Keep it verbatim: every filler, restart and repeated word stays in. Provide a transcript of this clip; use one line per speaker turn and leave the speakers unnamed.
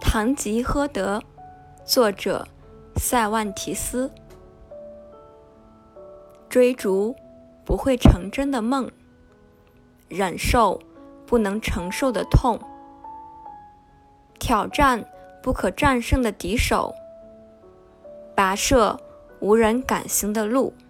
堂吉诃德，作者塞万提斯。追逐不会成真的梦，忍受不能承受的痛，挑战不可战胜的敌手，跋涉无人敢行的路。